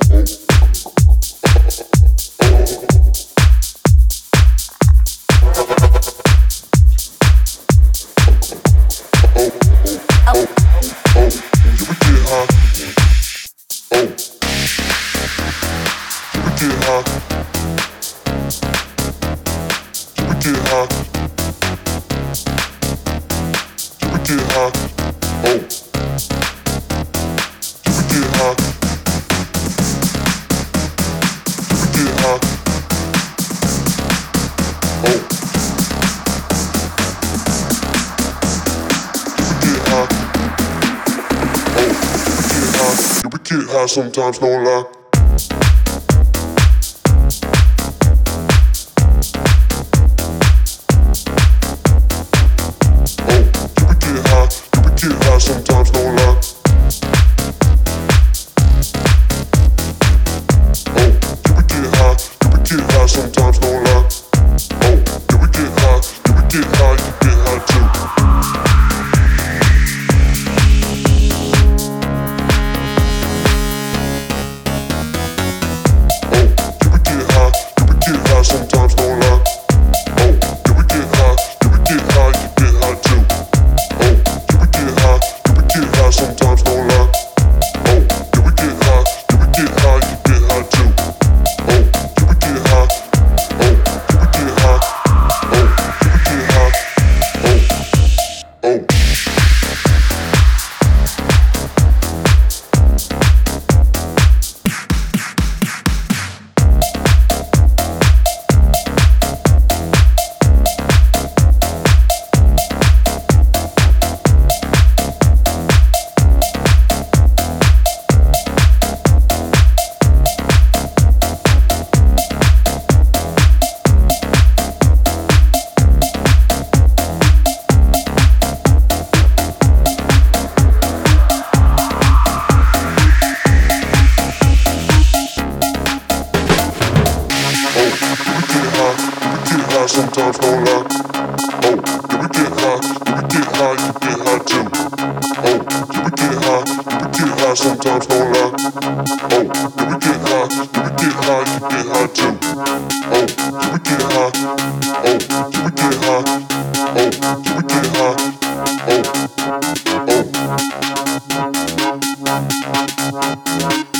Sometimes no lie. Sometimes no lie. You get high, sometimes no lie. You get high, you get high too. Sometimes no lie. You would get high, you get high too. You would get high, sometimes no lie. You would get high, you get high too. You would get high, you get high, you get high, sometimes no lie. You would get high, you get high too. You would get high, sometimes no lie. You would get high, you get high too. You would get high, you get high, you would get high,